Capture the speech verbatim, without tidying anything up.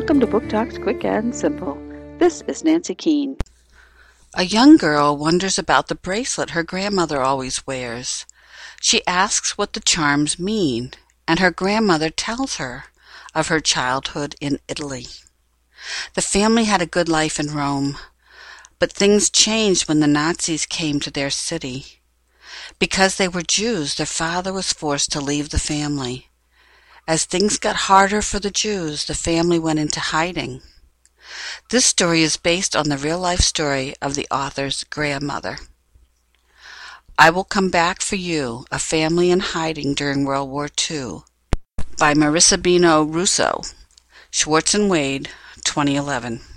Welcome to Book Talks Quick and Simple. This is Nancy Keene. A young girl wonders about the bracelet her grandmother always wears. She asks what the charms mean, and her grandmother tells her of her childhood in Italy. The family had a good life in Rome, but things changed when the Nazis came to their city. Because they were Jews, their father was forced to leave the family. As things got harder for the Jews, the family went into hiding. This story is based on the real-life story of the author's grandmother. I Will Come Back for You, A Family in Hiding During World War Two, by Marissa Bino Russo, Schwartz and Wade, twenty eleven.